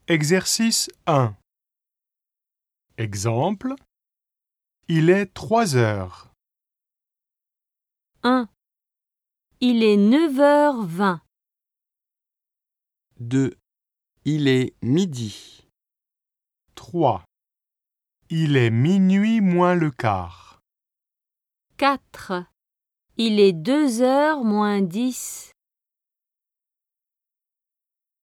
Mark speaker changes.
Speaker 1: Exercice 1. Exemple. Il est 3 heures.
Speaker 2: 1. Il est 9h20.
Speaker 3: 2. Il est midi.
Speaker 1: 3. Il est minuit moins le quart.
Speaker 2: 4. Il est 2h moins 10.